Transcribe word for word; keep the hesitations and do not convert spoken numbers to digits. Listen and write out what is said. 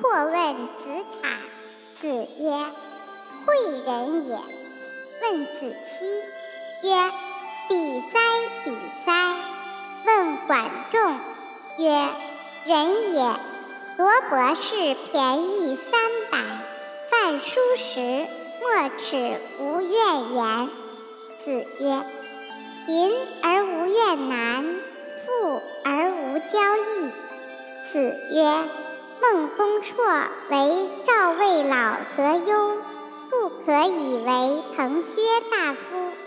或问子产。子曰：诲人也。问子期曰：比哉，比哉！问管仲曰：人也。罗博士便宜三百，饭疏食，莫齿无怨言。子曰：贫而无怨难，富而无骄逸。子曰：孟公绰为赵魏老则忧，不可以为滕薛大夫。